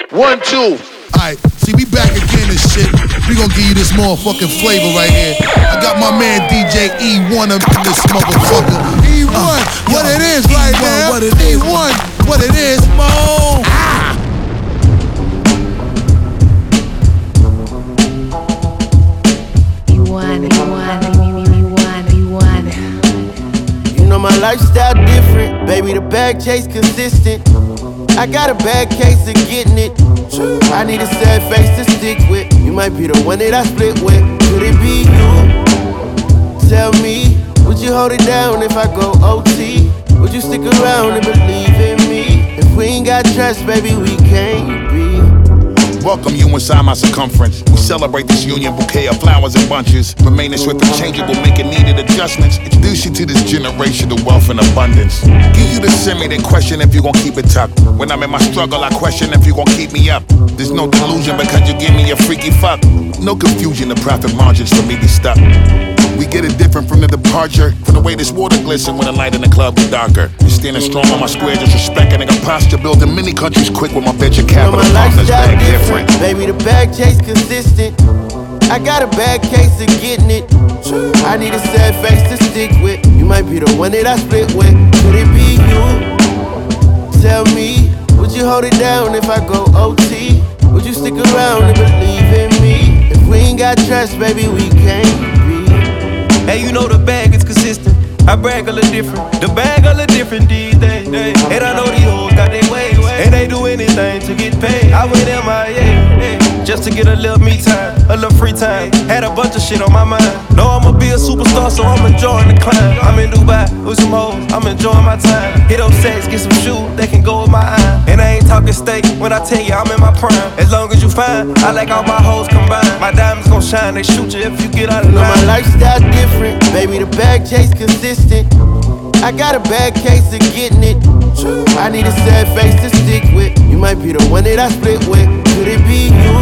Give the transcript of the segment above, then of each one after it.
1, 2. Alright, see, we back again and shit. We gonna give you this motherfucking flavor right here. I got my man DJ E1 up in this motherfucker. E1, what it is right now. What it is. E1, what it is, Mo. You know my lifestyle different, baby, the bag chase consistent. I got a bad case of getting it. I need a sad face to stick with. You might be the one that I split with. Could it be you? Tell me, would you hold it down if I go OT? Would you stick around and believe in me? If we ain't got trust, baby, we can't be. Welcome you inside my circumference. We celebrate this union, bouquet of flowers and bunches. Remaining swift and changeable, making needed adjustments. Introduce you to this generation of wealth and abundance. Give you the semi, then question if you gon' keep it tucked. When I'm in my struggle, I question if you gon' keep me up. There's no delusion because you give me a freaky fuck. No confusion, the profit margins for me be stuck. We get it different from the departure. From the way this water glisten when the light in the club get darker. You standing strong on my square, just respecting a posture. Building many countries quick with my venture capital partners. Bag different. Baby, the bag chase consistent. I got a bad case of getting it. I need a sad face to stick with. You might be the one that I split with. Could it be you? Tell me, would you hold it down if I go OT? Would you stick around and believe in me? If we ain't got trust, baby, we can't be. Hey, you know the bag is consistent. I brag a little different. The bag a little different these days. And I know these hoes got their ways. And they do anything to get paid. I went MIA just to get a little me time, a little free time. Had a bunch of shit on my mind. Know I'ma be a superstar, so I'm enjoying the climb. I'm in Dubai with some hoes, I'm enjoying my time. Hit up sex, get some shoes that can go with my eye. And I ain't talking steak when I tell you I'm in my prime. As long as you fine, I like all my hoes combined. My diamonds gon' shine, they shoot you if you get out of line. You know my lifestyle different, baby, the bag chase consistent. I got a bad case of getting it. I need a sad face to stick with. You might be the one that I split with. Could it be you?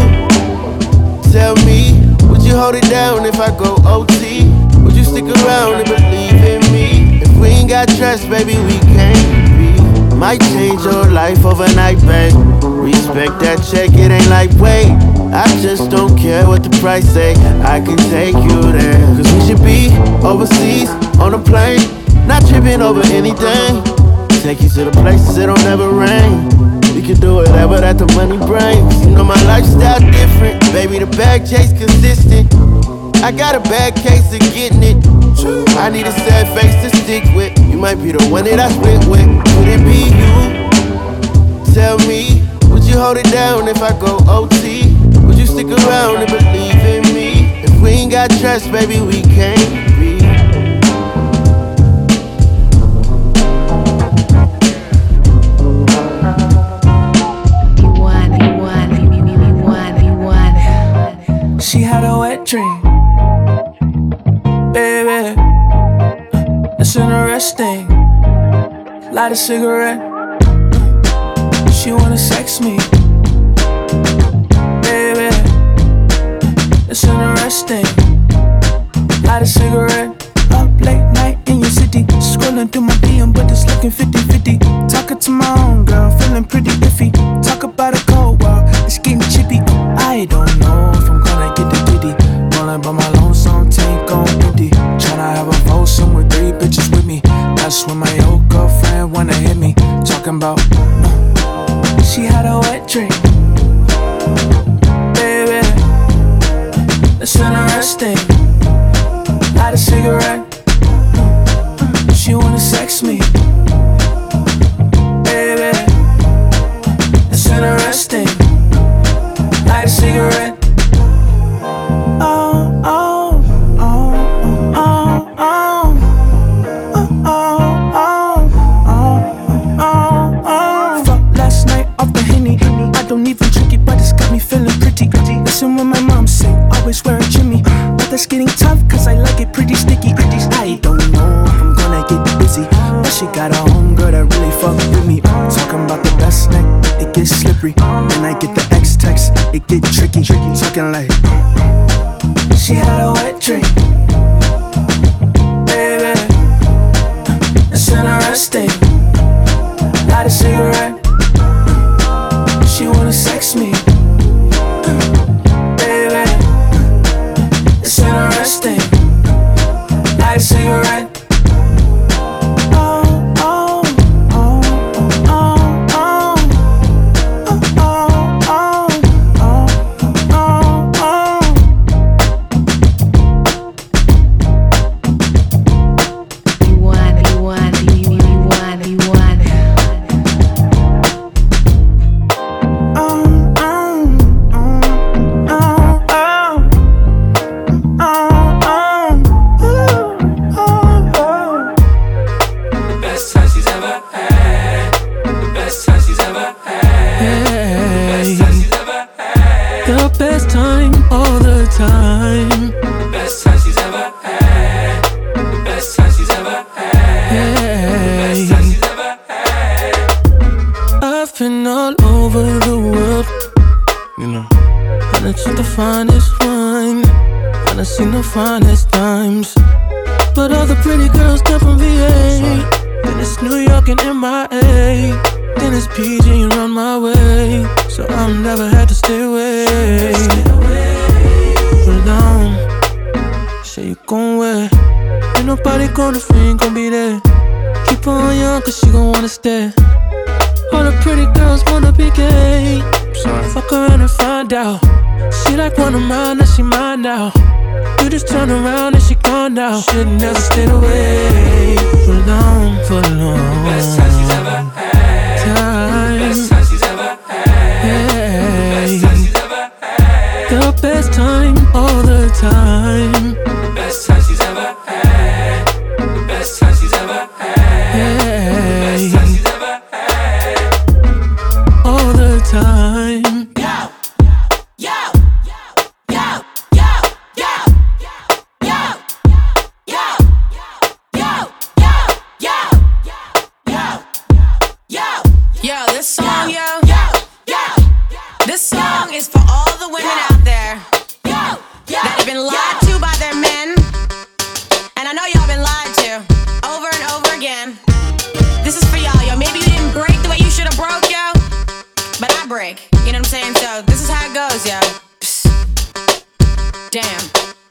Tell me, would you hold it down if I go OT? Would you stick around and believe in me? If we ain't got trust, baby, we can't be. Might change your life overnight, babe. Respect that check, it ain't like wait. I just don't care what the price say. I can take you there. Cause we should be overseas on a plane, not tripping over anything. Take you to the places it don't ever rain. We can do whatever that the money brings. You know my lifestyle different, baby, the bag chase consistent. I got a bad case of getting it. I need a sad face to stick with. You might be the one that I split with. Could it be you? Tell me, would you hold it down if I go OT? Would you stick around and believe in me? If we ain't got trust, baby, we can't be. She had a wet dream, baby. It's interesting. Light a cigarette. She wanna sex me, baby. It's interesting. Light a cigarette. Up late night in your city, scrolling through my DM, but it's looking 50-50. Talking to my own girl, feeling pretty iffy. Talk about a cold world, it's getting chippy. I don't know if I'm gonna get the giddy. Rolling by my lonesome tank on empty. Tryna have a foursome with 3 bitches with me. That's when my old girlfriend wanna hit me. Talking about she had a wet dream, baby. It's interesting. Light a cigarette. She wanna sex me, baby. It's interesting. Light a cigarette. Oh, oh, oh, oh, oh, oh, oh, oh, oh, oh. Fuck last night off the Henny. I don't even drink it, but it's got me feeling pretty. Listen when my mom say, always wear a Jimmy. But that's getting tough, cause I like it pretty sticky. I don't know if I'm gonna get busy, but she got a homegirl that really fuck with me. Talking about the best neck, it gets slippery. Then I get the X text, it get tricky. Talking like she had a wet dream, baby. It's interesting. Light a cigarette. She wanna sex me, over the world. You know, I done took the finest wine, I done seen the finest dimes, but all the pretty girls come from VA. Then it's New York and MIA, then it's PG and run my way. So I've never had to stay away. Put it down, say you gon' wear. Ain't nobody gonna free, gon' be there. Keep her on young cause she gon' wanna stay. All the pretty girls wanna be gay. Fuck around and find out. She like one of mine, now she mine now. You just turn around and she gone now. Shit never stayed away. For long, for long. Best time she's ever had. Best time she's ever had. Best time she's ever had. The best time, all the time. The best time she's ever had. The best time she's ever had. Best time she's ever had. All the time. Yo, yo, yo, yo, yo, yo, yo, yo, yo, yo, this song, yo, this song is for all the women out there that have been lied to by their men, and I know y'all been lied to over and over again. This is for y'all, yo. Maybe you didn't break the way you should have broke, yo, but I break. You know what I'm saying? So this is how it goes, yo. Psst. Damn.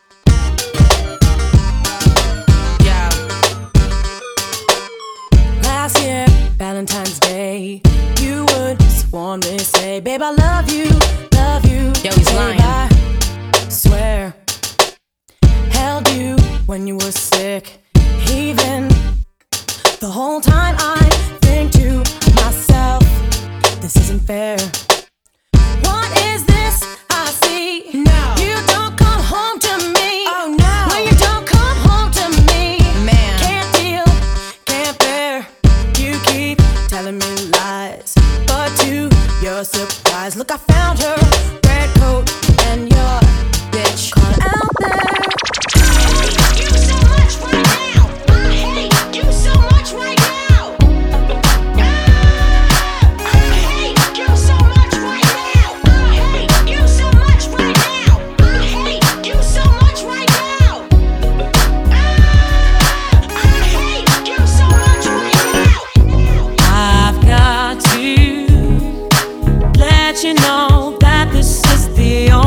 Last year, Valentine's Day, you would warmly say, babe, I love you, love you. Yo, he's lying. I swear, held you when you were sick. Even the whole time I think to myself, this isn't fair. What is this I see? No. You don't come home to me. Oh no. When you don't come home to me, man, can't deal, can't bear. You keep telling me lies, but to your surprise, look, I found her red coat and your bitch caught out there. I hate you so much right now. I hate you so much right now. I hate you so much right now. I hate you so much right now. I hate you so much right now. I hate you so much right now. I've got to let you know that this is the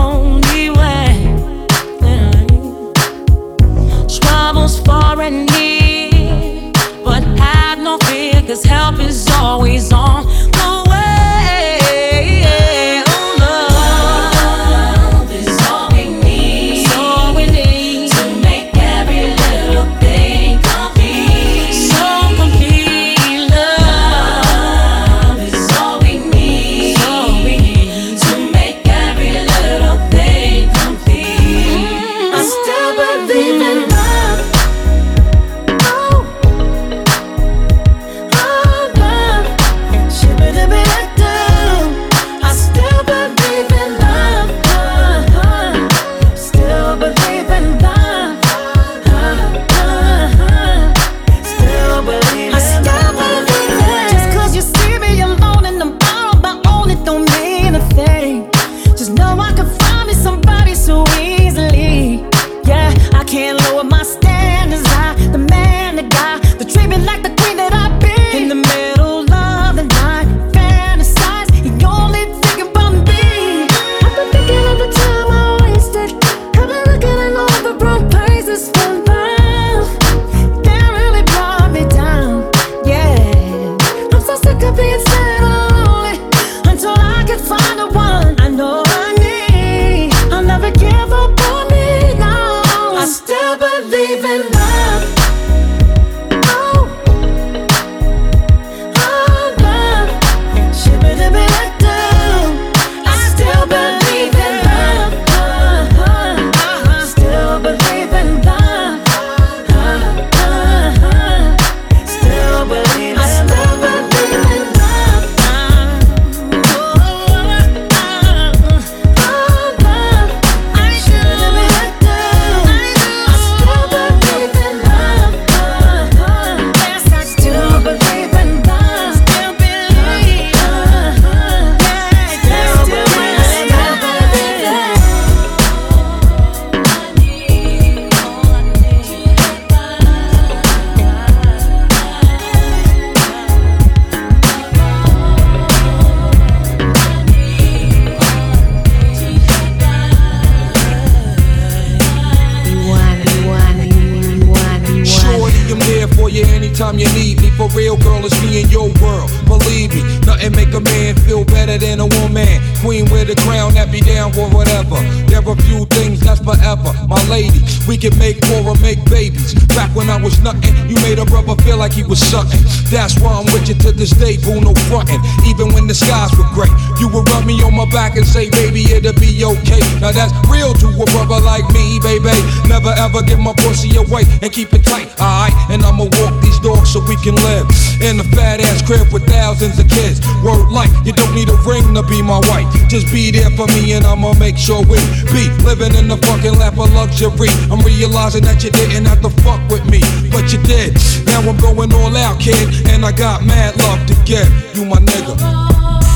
for real, girl, it's me in your world. Believe me, nothing make a man feel better than a woman. Queen with a crown that be down for whatever. There are few things that's forever. My lady, we can make more or make babies. Back when I was nothing, you made a brother feel like he was something. That's why I'm with you to this day, boo, no frontin'. Even when the skies were gray, you would rub me on my back and say, baby, it'll be okay. Now that's real to a brother like me, baby. Never ever give my pussy away and keep it tight, alright? And I'ma walk these dogs so we can live in a fat ass crib with thousands of kids. Word life, you don't need a ring to be my wife. Just be there for me and I'ma make sure we be living in the fucking lap of luxury. I'm realizing that you didn't have to fuck with me, but you did. Now I'm going all out, kid, and I got mad love to give. You my nigga.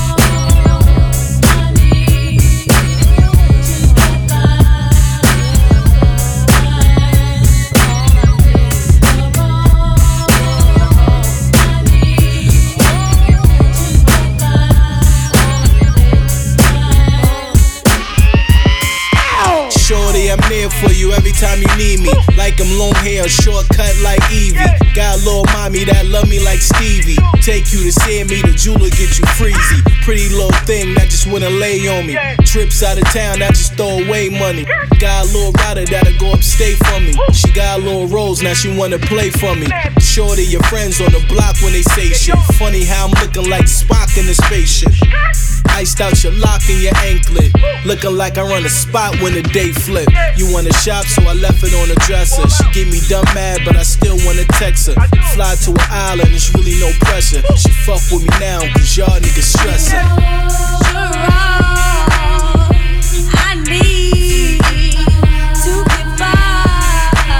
I'm there for you every time you need me. Like I'm long hair, shortcut like Evie. Got a little mommy that love me like Stevie. Take you to see me, the jeweler get you freezy. Pretty little thing that just wanna lay on me. Trips out of town that just throw away money. Got a little rider that'll go upstate for me. She got a little rose, now she wanna play for me. Shorty, your friends on the block when they say shit. Funny how I'm looking like Spock in the spaceship. Iced out your lock and your anklet. Looking like I run a spot when the day flip. You wanna shop, so I left it on the dresser. She get me dumb mad, but I still wanna text her. Fly to an island, it's really no pressure. She fuck with me now, cause y'all niggas stressin'. You're wrong. I need to get by.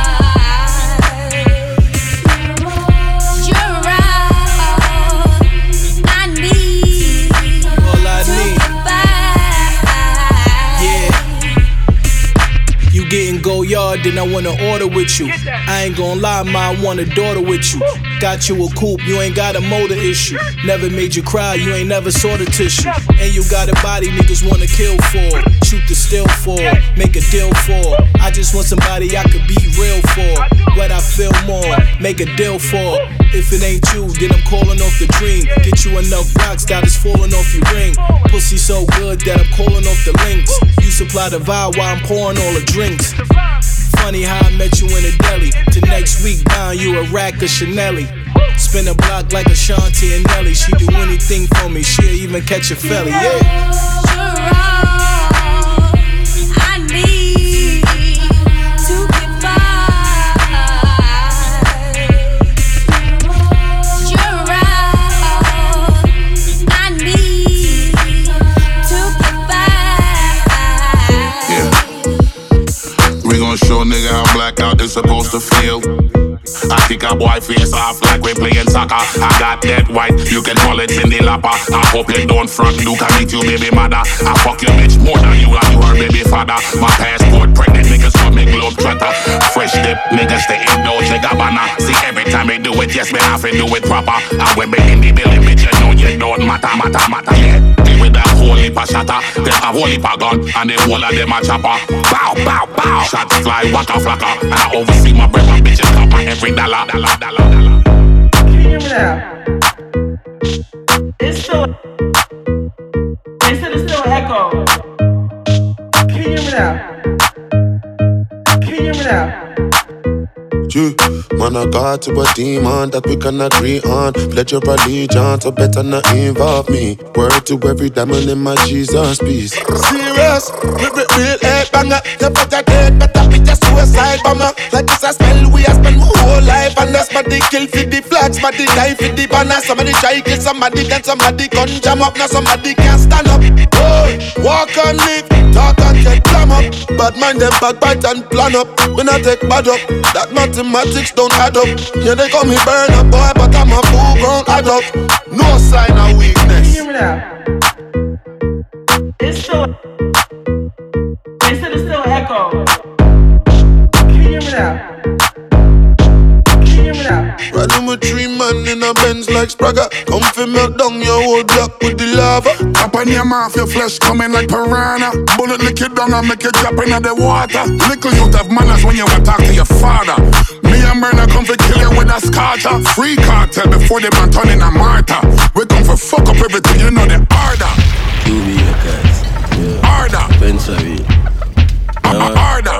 You're wrong. I need all I to need. get by. Yeah. You getting go yard, then I wanna order with you. I ain't gon' lie, ma, I want a daughter with you. Got you a coupe, you ain't got a motor issue. Never made you cry, you ain't never saw the tissue. And you got a body niggas wanna kill for. Shoot the still for, make a deal for. I just want somebody I could be real for. What I feel more, make a deal for. If it ain't you, then I'm calling off the dream. Get you enough rocks that is falling off your ring. Pussy so good that I'm calling off the links. You supply the vibe while I'm pouring all the drinks. Funny how I met you in a deli. To next week, buying you a rack of Chanel. Spin a block like Ashanti and Nelly. She do anything for me, she'll even catch a felly, yeah. You're wrong. I need to get by. You're wrong. I need to get by. Yeah. We gon' show nigga how blackout is supposed to feel. I kick a boy face off like we playing soccer. I got that white, you can call it Cindy Lapper. I hope you don't front, you can meet you baby mother. I fuck your bitch more than you and you her baby father. My passport pregnant niggas call me globe trotter. Fresh dip niggas stay in Dolce Gabbana. See every time they do it, yes me have to do it proper. And when we in the building, bitch you know you don't matter, yeah. Deal with that whole heap of shatter. Them have whole heap of gun and the whole of them a chopper. Bow, bow, bow. Shots fly, waka flocka. And I oversee my breath and bitches copper every dollar. Can you hear me now? It's still an echo. Can you hear me now? Can you hear me now? Man, I got to a demon that we can agree on. Pledge your allegiance, so better not involve me. Word to every diamond in my Jesus piece. Serious, real head banger. You better dead, better be a suicide bomber. Like it's a spell, we have spent my whole life. And that's somebody kill for the flags, somebody die for the banner. Somebody try kill somebody, then somebody gun jam up. Now somebody can't stand up. Oh, walk and live, talk and get clam up. Bad mind them backbite and plan up. We not take bad up, that mathematics don't add up. Yeah, they call me burn up boy, but I'm a full grown adult. No sign of weakness. Can you hear me now? It's still an echo. Can you hear me now? Can you hear me now? Riding with 3 men in a Benz like Spragga. Come fi melt down your whole block with the lava. Up on your mouth, your flesh coming like piranha. Bullet lick it down and make it drop into the water. Little youth have manners when you want to talk to your father. Me and burner come to kill you with a scorcher. Free cartel before they man turn in a martyr. We come for fuck up everything, you know the order. QB records. Order. Pensary. Order.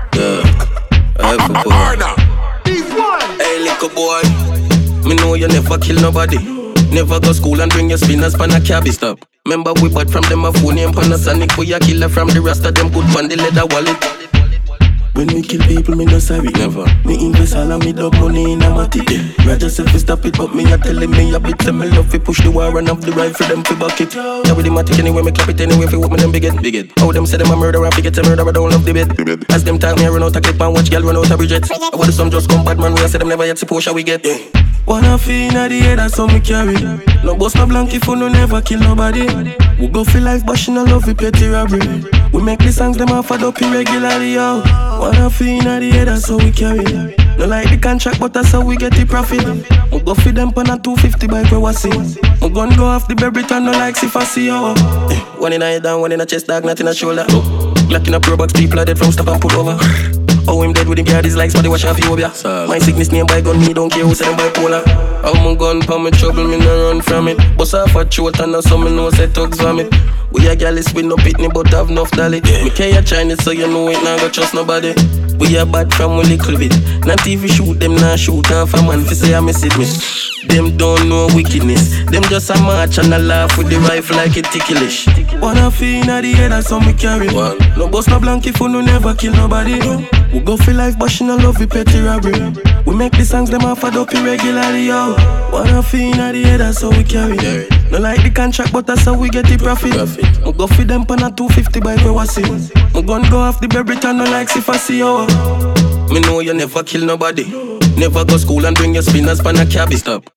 Order. Hey, little boy. Me know you never kill nobody. Never go school and bring your spinners pan a cabbie stop. Remember we bought from them a phone name Panasonic. We a killer from the rest of them good pan the leather wallet. When me kill people, me no sorry, never. Me invest all of me dog money in a matic. Roger said fi stop it, but me a telling me a bit. Say me love fi push the war and have the right for them fi bucket. Yeah, with the matic anyway, me clap it anyway fi what me them big it. How them say them a murderer, fi get a murderer, don't love the bed. As them talk me run out a clip and watch girl run out a Bridget. I want some just come bad man, we a say them never yet see Porsche we get. Wanna feel inna the head, that's how me carry. No bust no blank if you no never kill nobody. We go for life, but she no love it petty robbery. We make the songs them off up irregularly, yo. Wanna feel inna the head, that's how we carry. No like the contract, but that's how we get the profit. We go for them pan a 250 bike where we see. We gun go off the baby turn no likes if I see yo. One in a head down, one in a chest, dog, not in a shoulder. Glock in a pro box, people are dead from stop and pull over. Oh, him dead with him guard his likes, but they wash off you over. My sickness name by gun, me don't care who say them bipolar. I'm a gun for me trouble, me no run from it. Bust off a throat and now some me know say thugs vomit. We a gallus with no pitney but have enough dolly. Me carry Chinese so you know it, nah go trust nobody. We a bad from a little bit. Not even shoot them, nah shoot off a man fi say I miss it me. Them don't know wickedness. Them just a march and a laugh with the rifle like it ticklish. Wanna feel inna the head, that's how me carry. No bust no blank if you no never kill nobody. We go for life, but she no love it petty robbery. We make the songs them off up irregularly, yo. Wanna feel inna the head, that's how we carry. No like the contract, but that's how we get the profit. We go for them pan a 250 bike where we see. We gun go off the baby turn no likes if I see yo. Me know you never kill nobody. Never go school and bring your spinners pan a cabbie stop.